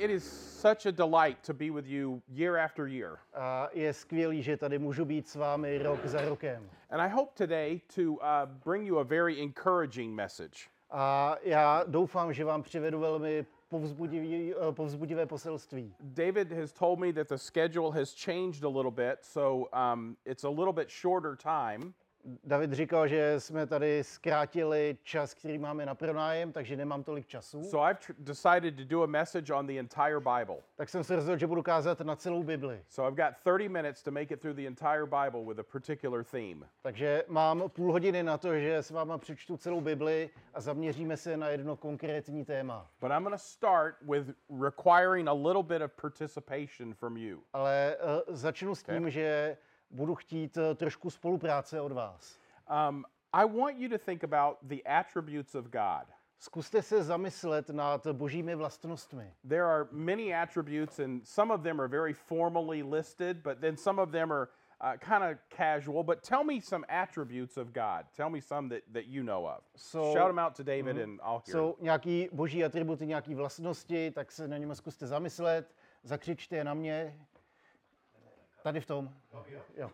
It is such a delight to be with you year after year. A je skvělý, že tady můžu být s vámi rok za rokem. And I hope today to bring you a very encouraging message. A já doufám, že vám přivedu velmi povzbudivé poselství. David has told me that the schedule has changed a little bit, so it's a little bit shorter time. David říkal, že jsme tady zkrátili čas, který máme na pronájem, takže nemám tolik času. So I've decided to do a message on the entire Bible. Tak jsem se rozhodl, že budu kázat na celou Bibli. So I've got 30 minutes to make it through the entire Bible with a particular theme. Takže mám půl hodiny na to, že s váma přečtu celou Bibli a zaměříme se na jedno konkrétní téma. But I'm going to start with requiring a little bit of participation from you. Ale začnu s tím, že budu chtít trošku spolupráce od vás. I want you to think about the attributes of God. Zkuste se zamyslet nad božími vlastnostmi. There are many attributes, and some of them are very formally listed, but then some of them are kind of casual. But tell me some attributes of God. Tell me some that you know of. Shout them out to David and I'll hear Jsou nějaký boží atributy, nějaký vlastnosti, tak se na něm zkuste zamyslet, zakřičte je na mě. Tady v tom. Jo.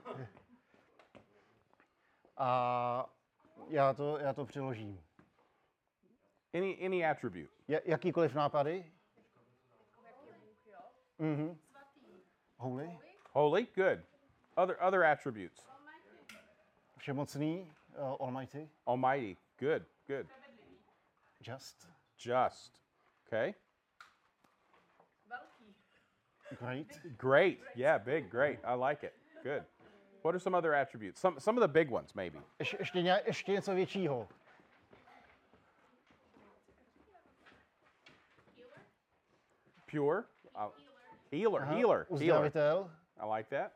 A já to přeložím. Any attribute. Jakýkoliv nápady? Holy. Holy, good. Other attributes. Všemocný, Almighty. Almighty, good. Just. Okay. Great. Yeah, big, great. I like it. Good. What are some other attributes? Some of the big ones, maybe. Ještě něco většího. Pure. Healer. Uzdravitel. I like that.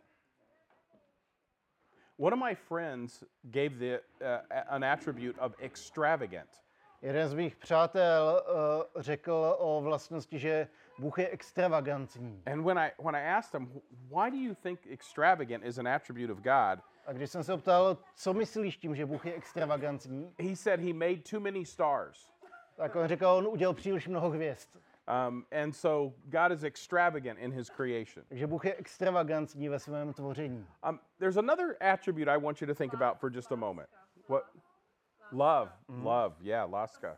One of my friends gave an attribute of extravagant. Jeden z mých přátel řekl o vlastnosti, že Bůh je extravagantní. And when I asked him, why do you think extravagant is an attribute of God? A když jsem se optal, co myslíš tím, že Bůh je extravagantní? He said he made too many stars. Tak on řekl, on udělal příliš mnoho hvězd. And so God is extravagant in his creation. Takže Bůh je extravagantní ve svém tvoření. There's another attribute I want you to think about for just a moment. What? Love. Yeah, láska.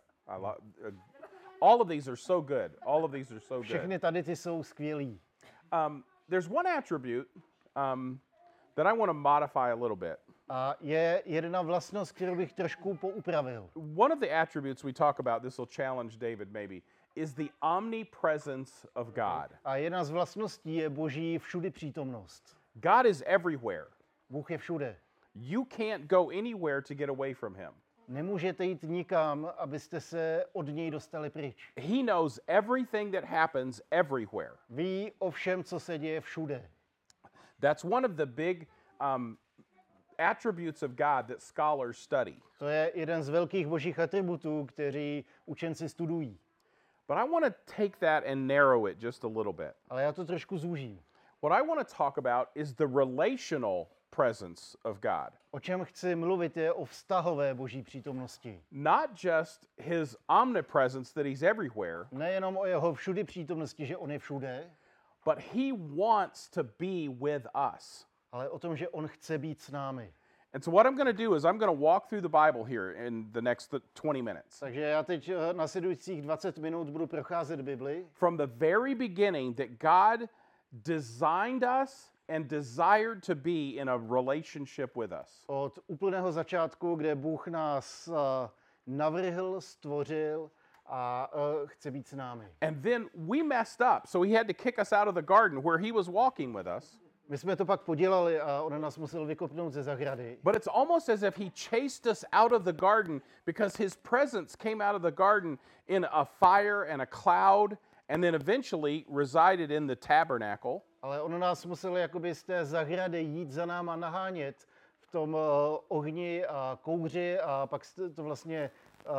All of these are so good. Všechny tady ty jsou skvělý. There's one attribute that I want to modify a little bit. A je jedna vlastnost, kterou bych trošku poupravil. One of the attributes we talk about, this will challenge David maybe, is the omnipresence of God. A jedna z vlastností je boží všudy přítomnost. God is everywhere. Bůh je všude. You can't go anywhere to get away from him. Nemůžete jít nikam, abyste se od něj dostali pryč. He knows everything that happens everywhere. Ví o všem, co se děje všude. That's one of the big attributes of God that scholars study. To je jeden z velkých božích atributů, který učenci studují. But I want to take that and narrow it just a little bit. Ale já to trošku zúžím. What I want to talk about is the relational presence of God. O čem chci mluvit je o vztahové boží přítomnosti. Not just his omnipresence that he's everywhere. Nejenom o jeho všudy přítomnosti, že on je všude, but he wants to be with us. Ale o tom, že on chce být s námi. And so what I'm going to do is I'm going to walk through the Bible here in the next 20 minutes. Takže já teď následujících 20 minut budu procházet Bibli. From the very beginning that God designed us and desired to be in a relationship with us. Od úplného začátku, kde Bůh nás navrhl, stvořil a chce být s námi. And then we messed up, so he had to kick us out of the garden where he was walking with us. My jsme to pak podělali a on nás musel vykopnout ze zahrady. But it's almost as if he chased us out of the garden because his presence came out of the garden in a fire and a cloud and then eventually resided in the tabernacle. Ale on nás musel jakoby z té zahrady jít za náma nahánět v tom ohni a kouři a pak to vlastně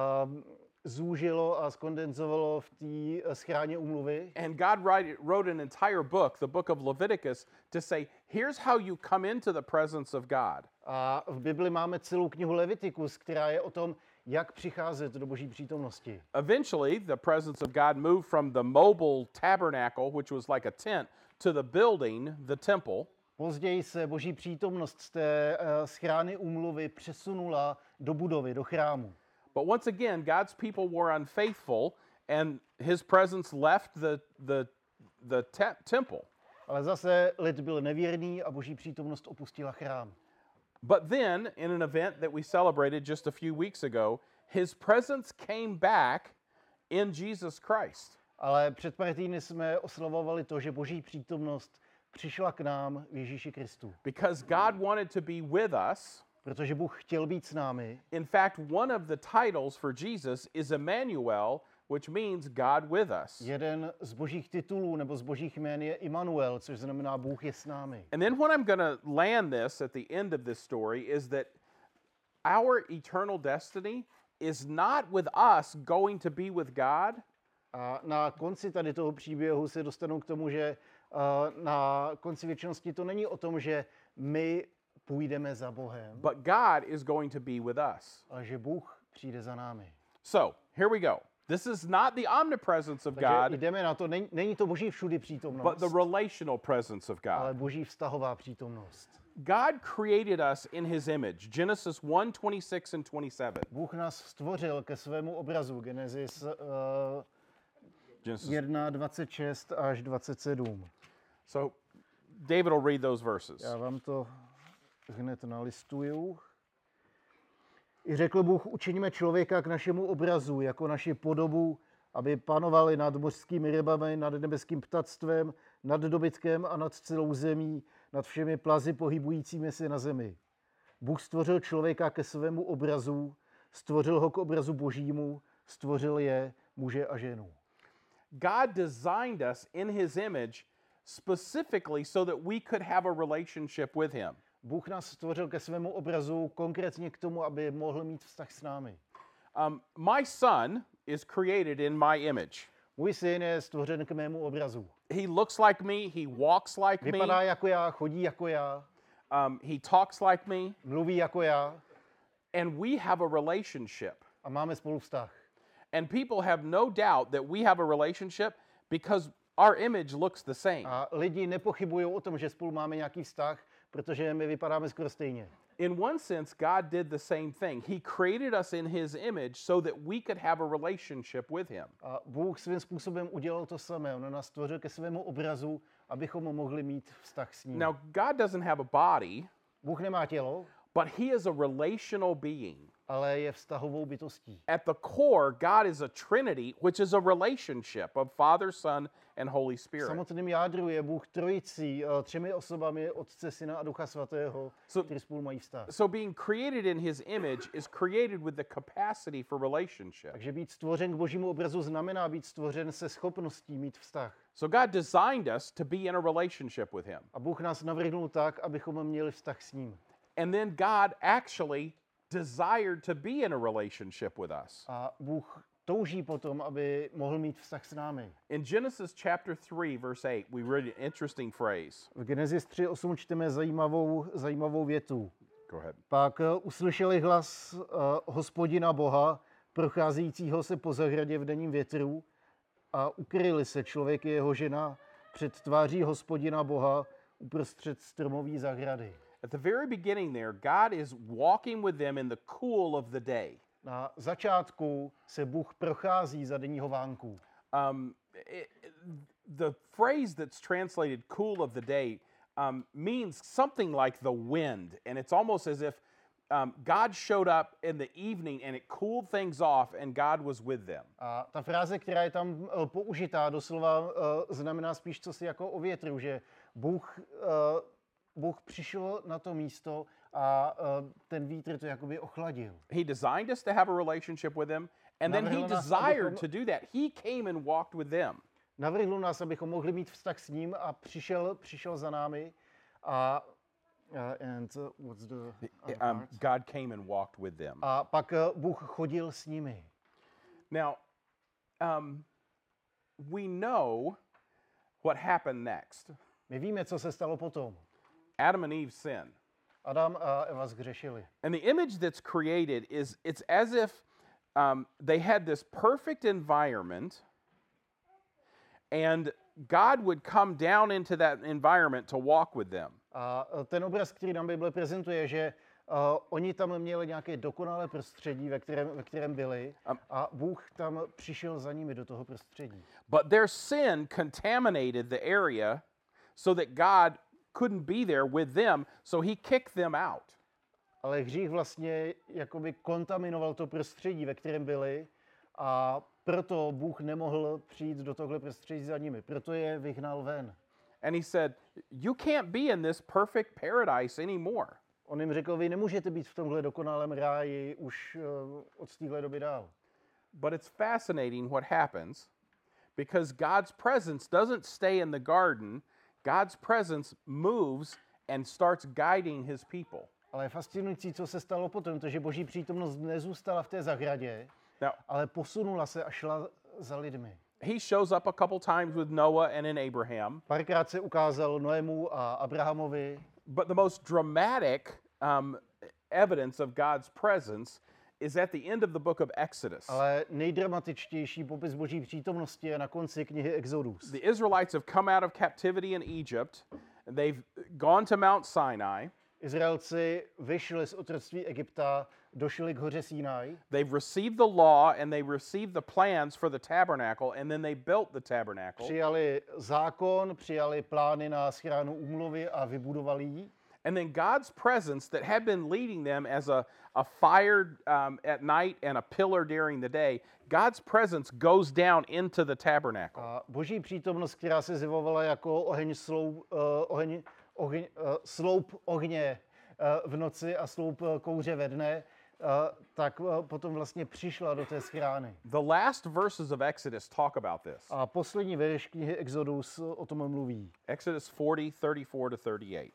zúžilo a skondenzovalo v té schráně úmluvy. And God wrote an entire book, the book of Leviticus, to say, here's how you come into the presence of God. A v Bibli máme celou knihu Levitikus, která je o tom, jak přicházet do Boží přítomnosti. Eventually, the presence of God moved from the mobile tabernacle, which was like a tent, to the building, the temple. Později se Boží přítomnost z té schrány úmluvy přesunula do budovy, do chrámu. But once again, God's people were unfaithful, and his presence left the temple. Ale zase lid byl nevěrný a Boží přítomnost opustila chrám. But then, in an event that we celebrated just a few weeks ago, his presence came back in Jesus Christ. Ale před pár týdny jsme oslavovali to, že Boží přítomnost přišla k nám v Ježíši Kristu. Because God wanted to be with us. Protože Bůh chtěl být s námi. In fact, one of the titles for Jesus is Emmanuel, which means God with us. Jeden z božích titulů nebo z božích jmén je Immanuel, což znamená Bůh je s námi. And then what I'm going to land this at the end of this story is that our eternal destiny is not with us going to be with God. A na konci tady toho příběhu se dostanu k tomu, že na konci věčnosti to není o tom, že my půjdeme za Bohem, but God is going to be with us. Ale že Bůh přijde za námi. So, here we go. This is not the omnipresence of God. Jdeme na to, není to Boží všudy přítomnost, but the relational presence of God. Ale Boží vztahová přítomnost. God created us in his image. Genesis 1:26 and 27. Bůh nás stvořil ke svému obrazu. Genesis 1:26 až 27. So David will read those verses. Já vám to hned nalistuju. I řekl Bůh, učiníme člověka k našemu obrazu, jako naši podobu, aby panovali nad mořskými rybami, nad nebeským ptactvem, nad dobytkem a nad celou zemí, nad všemi plazy pohybujícími se na zemi. Bůh stvořil člověka ke svému obrazu, stvořil ho k obrazu Božímu, stvořil je muže a ženu. God designed us in his image specifically so that we could have a relationship with him. Bůh nás stvořil ke svému obrazu konkrétně k tomu, aby mohl mít vztah s námi. My son is created in my image. Můj syn je stvořen k mému obrazu. He looks like me, he walks like me. Vypadá jako já, chodí jako já. He talks like me. Mluví jako já. And we have a relationship. A máme spolu vztah. And people have no doubt that we have a relationship because our image looks the same. A lidi nepochybují o tom, že spolu máme nějaký vztah, protože my vypadáme skoro stejně. In one sense, God did the same thing. He created us in his image so that we could have a relationship with him. A Bůh svým způsobem udělal to samé. On nás stvořil ke svému obrazu, abychom mohli mít vztah s ním. Now, God doesn't have a body. Bůh nemá tělo, but he is a relational being. Ale je vztahovou bytostí. At the core, God is a Trinity, which is a relationship of Father, Son, and Holy Spirit. V samotném jádru je Bůh trojicí, třemi osobami, Otce, Syna a Ducha Svatého, kteří spolu mají vztah. So being created in his image is created with the capacity for relationship. Takže být stvořen k Božímu obrazu znamená být stvořen se schopností mít vztah. So God designed us to be in a relationship with him. A Bůh nás navrhnul tak, abychom měli vztah s ním. And then God actually desired to be in a relationship with us. A Bůh touží potom, aby mohl mít vztah s námi. In Genesis chapter 3 verse 8, we read an interesting phrase. V Genesis 3:8 čteme zajímavou větu. Go ahead. Pak uslyšeli hlas Hospodina Boha, procházejícího se po zahradě v denním větru, a ukryli se člověk i jeho žena před tváří Hospodina Boha uprostřed stromové zahrady. At the very beginning there, God is walking with them in the cool of the day. Na začátku se Bůh prochází za denního vánku. The phrase that's translated cool of the day means something like the wind. And it's almost as if God showed up in the evening and it cooled things off and God was with them. A ta fráze, která je tam použitá, doslova znamená spíš cosi jako o větru, že Bůh přišel na to místo a ten vítr to jakoby ochladil. He designed us to have a relationship with him, and then he desired to do that. He came and walked with them. Navrhl nás, abychom mohli mít vztah s ním, a přišel za námi. What's the God came and walked with them. A pak Bůh chodil s nimi. Now, we know what happened next. My víme, co se stalo potom. Adam and Eve sinned. Adam a Eva zhřešili. And the image that's created it's as if they had this perfect environment, and God would come down into that environment to walk with them. A ten obraz, který nám Bible prezentuje, že oni tam měli nějaké dokonalé prostředí, ve kterém byli, a Bůh tam přišel za nimi do toho prostředí. But their sin contaminated the area so that God couldn't be there with them, so he kicked them out. Ale hřích vlastně jakoby kontaminoval to prostředí, ve kterém byli, a proto Bůh nemohl přijít do tohle prostředí za nimi. Proto je vyhnal ven. And he said, you can't be in this perfect paradise anymore. On jim řekl, vy nemůžete být v tomhle dokonalém ráji už od téhle doby dál. But it's fascinating what happens, because God's presence doesn't stay in the garden. God's presence moves and starts guiding his people. Ale je fascinující, co se stalo potom, protože Boží přítomnost nezůstala v té zahradě, Now, ale posunula se a šla za lidmi. he shows up a couple times with Noah and in Abraham. Párkrát se ukázal Noému a Abrahamovi, But the most dramatic evidence of God's presence is at the end of the book of Exodus. ale nejdramatičtější popis Boží přítomnosti je na konci knihy Exodus. The Israelites have come out of captivity in Egypt. They've gone to Mount Sinai. Izraelci vyšli z otroctví Egypta, došli k hoře Sinaj, They've received the law and they received the plans for the tabernacle, and then they built the tabernacle. přijali zákon, přijali plány na schránu úmluvy a vybudovali ji. And then God's presence that had been leading them as a fire at night and a pillar during the day, God's presence goes down into the tabernacle. A Boží přítomnost, která se zjevovala jako sloup ohně v noci a sloup kouře ve dne, tak potom vlastně přišla do té schrány. The last verses of Exodus talk about this. A poslední verš knihy Exodus o tom mluví. Exodus 40:34-38.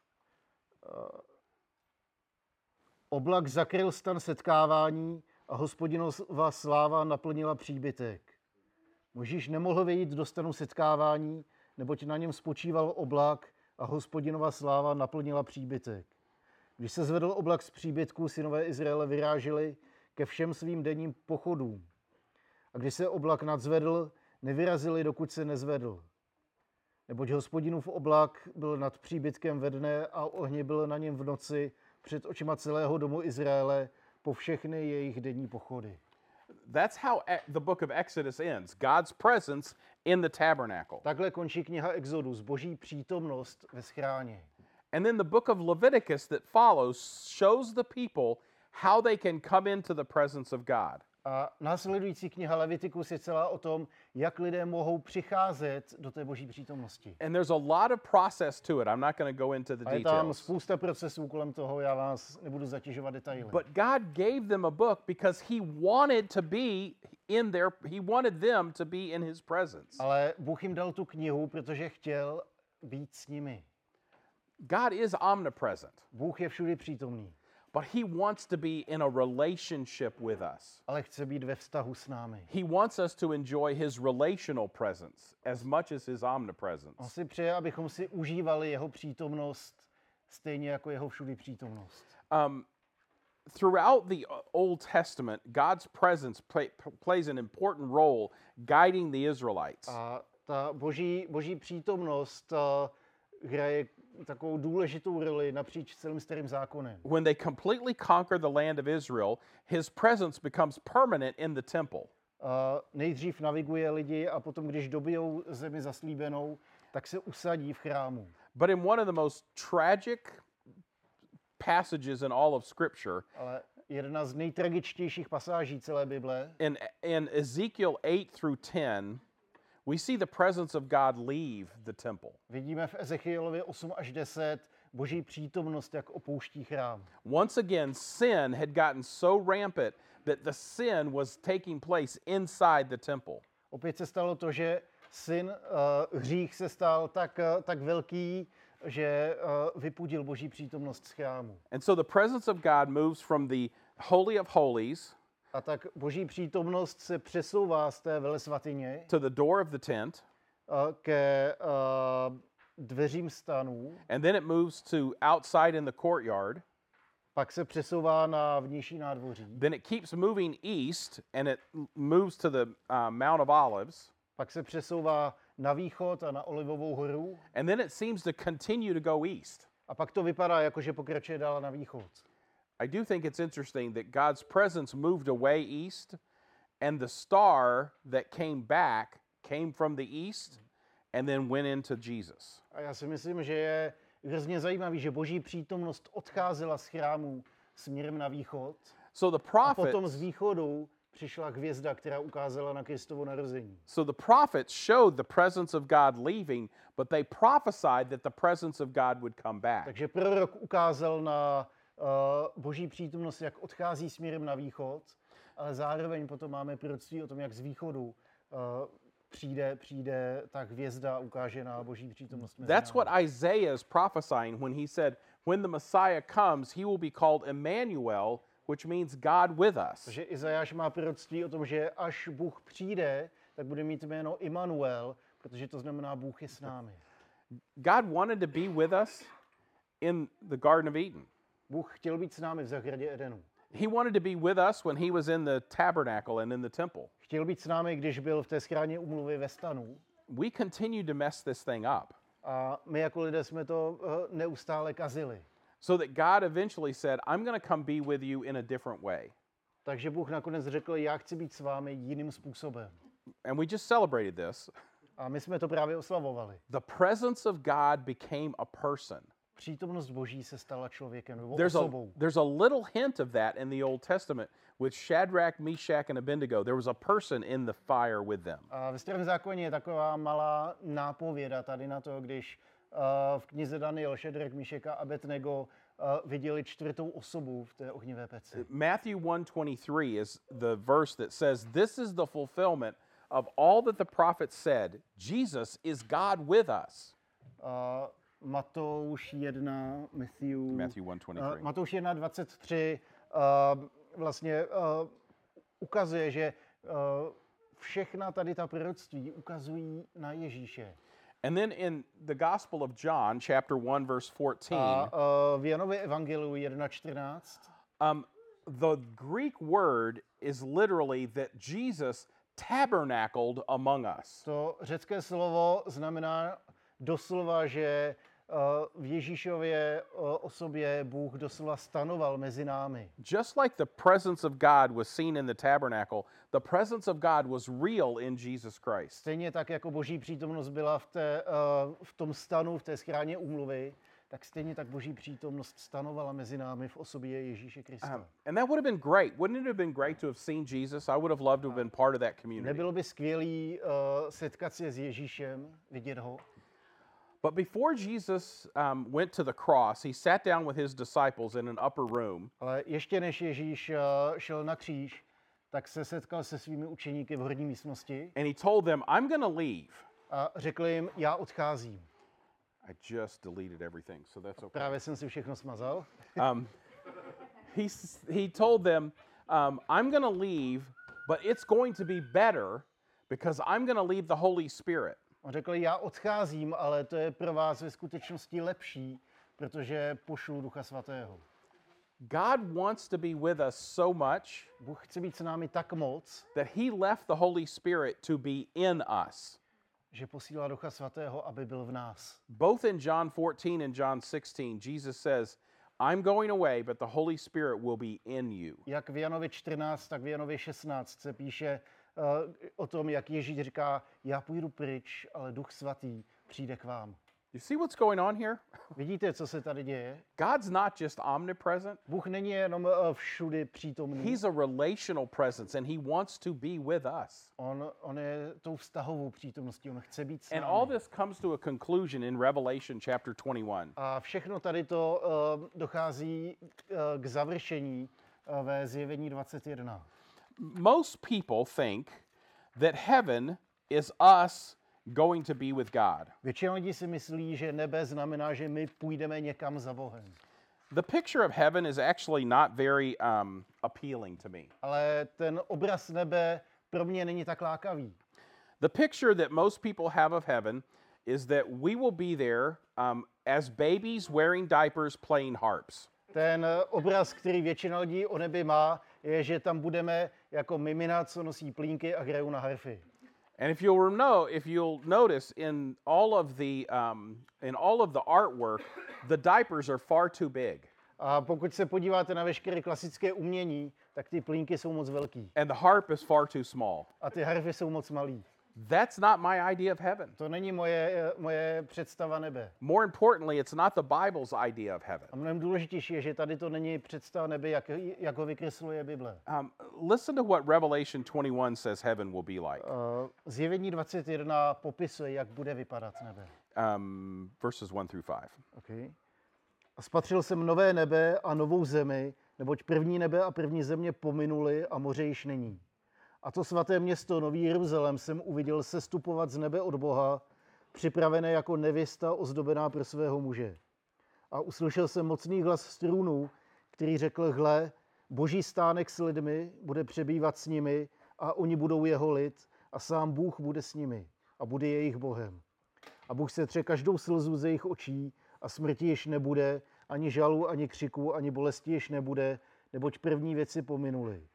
Oblak zakryl stan setkávání a Hospodinova sláva naplnila příbytek. Možíš nemohl vejít do stanu setkávání, neboť na něm spočíval oblak a Hospodinova sláva naplnila příbytek. Když se zvedl oblak z příbytku, synové Izraele vyráželi ke všem svým denním pochodům. A když se oblak nadzvedl, nevyrazili, dokud se nezvedl. Neboť Hospodinův oblak byl nad příbytkem ve dne a ohně byl na něm v noci před očima celého domu Izraele po všechny jejich denní pochody. That's how the book of Exodus ends. God's presence in the tabernacle. Takhle končí kniha Exodus, Boží přítomnost ve schráně. And then the book of Leviticus that follows shows the people how they can come into the presence of God. A následující kniha Levitikus je celá o tom, jak lidé mohou přicházet do té Boží přítomnosti. And there's a lot of process to it. I'm not going to go into the A je tam details. spousta procesů kolem toho, já vás nebudu zatěžovat detaily. But God gave them a book because he wanted to be in their he wanted them to be in his presence. Ale Bůh jim dal tu knihu, protože chtěl být s nimi. God is omnipresent, Bůh je všudy přítomný, but he wants to be in a relationship with us. ale chce být ve vztahu s námi. He wants us to enjoy his relational presence as much as his On omnipresence. si přeje, abychom si užívali jeho přítomnost stejně jako jeho všudy přítomnost. Throughout the Old Testament, God's presence plays an important role guiding the Israelites. A ta boží přítomnost hraje takovou důležitou roli napříč celým starým zákonem. When they completely conquer the land of Israel, his presence becomes permanent in the temple. Nejdřív naviguje lidi a potom, když dobijou zemi zaslíbenou, tak se usadí v chrámu. But in one of the most tragic passages in all of Scripture, Ale jedna z nejtragičtějších pasáží celé Bible, in Ezekiel 8-10, we see the presence of God leave the temple. vidíme v Ezechielově 8 až 10 Boží přítomnost, jak opouští chrám. Once again, sin had gotten so rampant that the sin was taking place inside the temple. Opět se stalo to, že hřích se stal tak velký, že vypudil Boží přítomnost z chrámu. And so the presence of God moves from the Holy of Holies A tak Boží přítomnost se přesouvá z té velesvatyně to the door of the tent, ke dveřím stanů, and then it moves to outside in the courtyard, Pak se přesouvá na vnější nádvoří. Then it keeps moving east and it moves to the Mount of Olives. Pak se přesouvá na východ a na Olivovou horu. And then it seems to continue to go east. A pak to vypadá jako, že pokračuje dál na východ. I do think it's interesting that God's presence moved away east, and the star that came back came from the east and then went into Jesus. A já si myslím, že je hrozně zajímavý, že boží přítomnost odcházela z chrámu směrem na východ. So the A potom prophets, z východu přišla hvězda, která ukázala na Kristovo narození. so the prophets showed the presence of God leaving, but they prophesied that the presence of God would come back. Takže prorok ukázal na boží přítomnost, jak odchází směrem na východ, ale zároveň potom máme proroctví o tom, jak z východu přijde ta hvězda a ukáže na boží přítomnost. Mezi That's námi. what Isaiah is prophesying when he said, when the Messiah comes, he will be called Emmanuel, which means God with us. Takže Izajáš má proroctví o tom, že až Bůh přijde, tak bude mít jméno Immanuel, protože to znamená Bůh je s námi. God wanted to be with us in the Garden of Eden. Bůh chtěl být s námi v zahradě Edenu. He wanted to be with us when he was in the tabernacle and in the temple. Chtěl být s námi, když byl v té schráně úmluvy ve stanu. We continue to mess this thing up. A my jako lidé jsme to neustále kazili. So that God eventually said, I'm going to come be with you in a different way. Takže Bůh nakonec řekl, já chci být s vámi jiným způsobem. And we just celebrated this. A my jsme to právě oslavovali. The presence of God became a person. Přítomnost Boží se stala člověkem nebo osobou. There's a little hint of that in the Old Testament with Shadrach, Meshach, and Abednego. There was a person in the fire with them. A ve Starém zákoně je taková malá nápověda tady na to, když v knize Daniel Šedrach, Míšek a Abednego viděli čtvrtou osobu v té ohnivé peci. Matthew 1:23 is the verse that says, "This is the fulfillment of all that the prophets said. Jesus is God with us." Matouš 1, Matthew 1:23. Matouš 1:23 vlastně ukazuje, že všechna tady ta proroctví ukazují na Ježíše. And then in the Gospel of John, chapter 1, verse 14, A v Janově evangeliu 1:14 the Greek word is literally that Jesus tabernacled among us. to řecké slovo znamená doslova, že v Ježíšově osobě Bůh doslova stanoval mezi námi. Just like the presence of God was seen in the tabernacle, the presence of God was real in Jesus Christ. Stejně tak, jako boží přítomnost byla v tom stanu, v té schráně úmluvy, tak stejně tak boží přítomnost stanovala mezi námi v osobě Ježíše Krista. And that would have been great. Wouldn't it have been great to have seen Jesus? I would have loved to have been part of that community. Nebylo by skvělý setkat se s Ježíšem, vidět ho? But before Jesus went to the cross, he sat down with his disciples in an upper room. Ale ještě než Ježíš šel na kříž, tak se setkal se svými učeníky v horní místnosti And he told them, I'm going to leave. a řekl jim, já odcházím. I just deleted everything, so that's okay. Právě jsem si všechno smazal. He told them, I'm going to leave, but it's going to be better because I'm going to leave the Holy Spirit. On řekl, já odcházím, ale to je pro vás ve skutečnosti lepší, protože pošlu Ducha Svatého. God wants to be with us so much Bůh chce být s námi tak moc, that he left the Holy Spirit to be in us. že posílá Ducha Svatého, aby byl v nás. Both in John 14 and John 16, Jesus says, I'm going away, but the Holy Spirit will be in you. Jak v Janově 14, tak v Janově 16 se píše o tom, jak Ježíš říká, já půjdu pryč, ale Duch Svatý přijde k vám. You see what's going on here? Vidíte, co se tady děje? God's not just omnipresent. Bůh není jenom všudy přítomný. He's a relational presence and he wants to be with us. On je tou vztahovou přítomností, on chce být s And námi. all this comes to a conclusion in Revelation chapter 21. A všechno tady to dochází k završení ve Zjevení 21. Most people think that heaven is us going to be with God. Většina lidí si myslí, že nebe znamená, že my půjdeme někam za Bohem. The picture of heaven is actually not very appealing to me. Ale ten obraz nebe pro mě není tak lákavý. The picture that most people have of heaven is that we will be there as babies wearing diapers playing harps. Ten obraz, který většina lidí o nebi má, je, že tam budeme jako mimina, co nosí plínky a hrajou na harfy. And if you'll notice in all of the artwork, the diapers are far too big. A pokud se podíváte na veškeré klasické umění, tak ty plínky jsou moc velký. And the harp is far too small. A ty harfy jsou moc malý. That's not my idea of heaven. To není moje představa nebe. More importantly, it's not the Bible's idea of heaven. A mnohem důležitější je, že tady to není představa nebe, jak ho vykresluje Bible. Listen to what Revelation 21 says heaven will be like. Zjevení 21 popisuje, jak bude vypadat nebe. Verses 1 through 5. Okay. A spatřil jsem nové nebe a novou zemi, neboť první nebe a první země pominuly a moře již není. A to svaté město, Nový Jeruzalém, jsem uviděl sestupovat z nebe od Boha, připravené jako nevěsta ozdobená pro svého muže. A uslyšel jsem mocný hlas z trůnu, který řekl, hle, Boží stánek s lidmi bude přebývat s nimi a oni budou jeho lid a sám Bůh bude s nimi a bude jejich Bohem. A Bůh setře každou slzu ze jejich očí a smrti již nebude, ani žalu, ani křiku, ani bolesti již nebude, neboť první věci pominuly.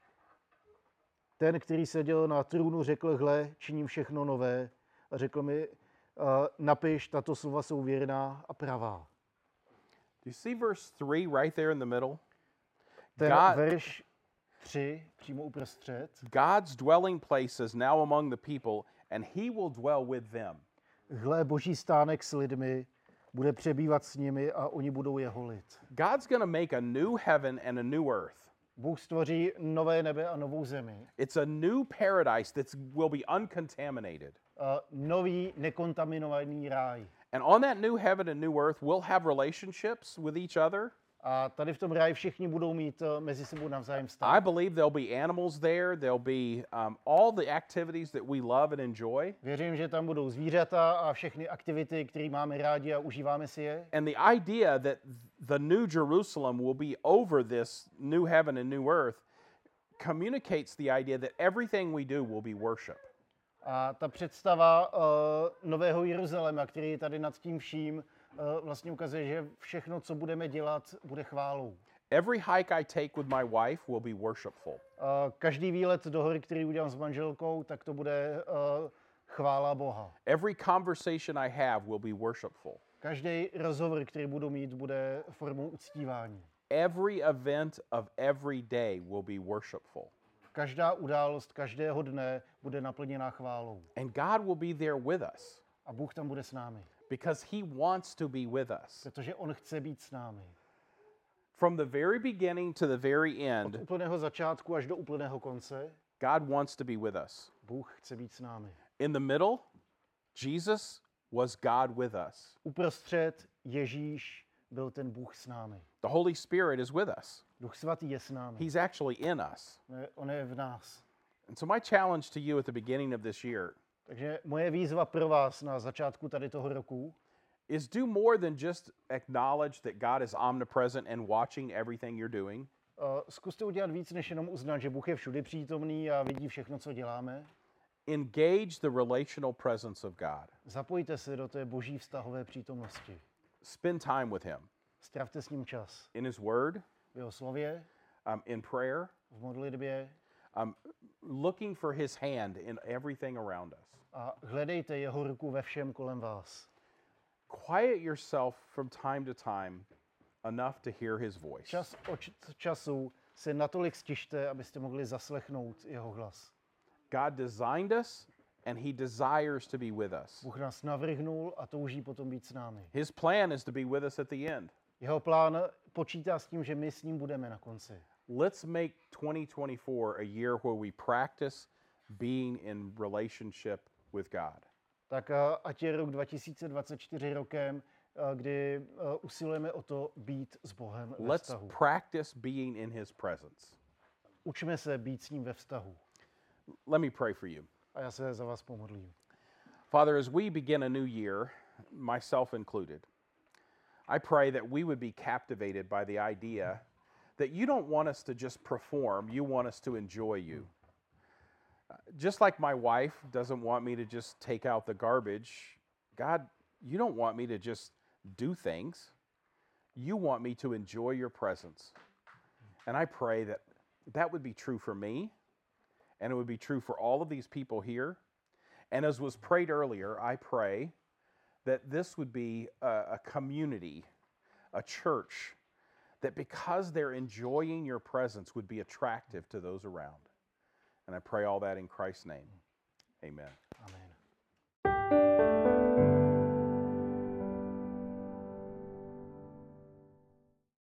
Ten, který seděl na trůnu, řekl, hle, činím všechno nové. A řekl mi, napiš, tato slova jsou věrná a pravá. Do you see verse 3 right there in the middle? Ten verš 3, přímo uprostřed. God's dwelling place is now among the people, and he will dwell with them. Hle, Boží stánek s lidmi, bude přebývat s nimi a oni budou jeho lid. God's going to make a new heaven and a new earth. Bůh stvoří nové nebe a novou zemi. It's a new paradise that will be uncontaminated. Nový nekontaminovaný ráj. And on that new heaven and new earth, we'll have relationships with each other. A tady v tom ráji všichni budou mít mezi sebou navzájem vztah. I believe there'll be animals there. There'll be all the activities that we love and enjoy. Věřím, že tam budou zvířata a všechny aktivity, které máme rádi a užíváme si je. And the idea that the new Jerusalem will be over this new heaven and new earth communicates the idea that everything we do will be worship. A ta představa nového Jeruzaléma, který je tady nad tím vším, vlastně ukazuje, že všechno, co budeme dělat, bude chválou. Every hike I take with my wife will be worshipful. Každý výlet do hory, který udělám s manželkou, tak to bude chvála Boha. Every conversation I have will be worshipful. Každý rozhovor, který budu mít, bude formou uctívání. Every event of every day will be worshipful. Každá událost každého dne bude naplněná chválou. And God will be there with us. A Bůh tam bude s námi. Because he wants to be with us. Protože on chce být s námi. From the very beginning to the very end, od úplného začátku až do úplného konce, God wants to be with us. Bůh chce být s námi. In the middle, Jesus was God with us. Uprostřed Ježíš byl ten Bůh s námi. The Holy Spirit is with us. Duch svatý je s námi. He's actually in us. On je v nás. And so my challenge to you at the beginning of this year Takže moje výzva pro vás na začátku tady toho roku is do more than just acknowledge that God is omnipresent and watching everything you're doing. Zkuste udělat víc, než jenom uznat, že Bůh je všude přítomný a vidí všechno, co děláme. Engage the relational presence of God. Zapojte se do té boží vztahové přítomnosti. Spend time with him. Stravte s ním čas. In his word, v jeho slově, in prayer, v modlitbě, looking for his hand in everything around us. A hledejte jeho ruku ve všem kolem vás. Quiet yourself from time to time enough to hear his voice. Čas od času se natolik stište, abyste mohli zaslechnout jeho hlas. God designed us and he desires to be with us. Bůh nás navrhnul a touží potom být s námi. His plan is to be with us at the end. Jeho plán počítá s tím, že my s ním budeme na konci. Let's make 2024 a year where we practice being in relationship with God. Tak ať je rok 2024 rokem, kdy usilujeme o to být s Bohem ve vztahu. Let's practice being in his presence. Učme se být s ním ve vztahu. Let me pray for you. A já se za vás pomodlím. Father, as we begin a new year, myself included, I pray that we would be captivated by the idea that you don't want us to just perform, you want us to enjoy you. Just like my wife doesn't want me to just take out the garbage, God, you don't want me to just do things. you want me to enjoy your presence. And I pray that that would be true for me, and it would be true for all of these people here. And as was prayed earlier, I pray that this would be a community, a church, that because they're enjoying your presence would be attractive to those around. And I pray all that in Christ's name. Amen.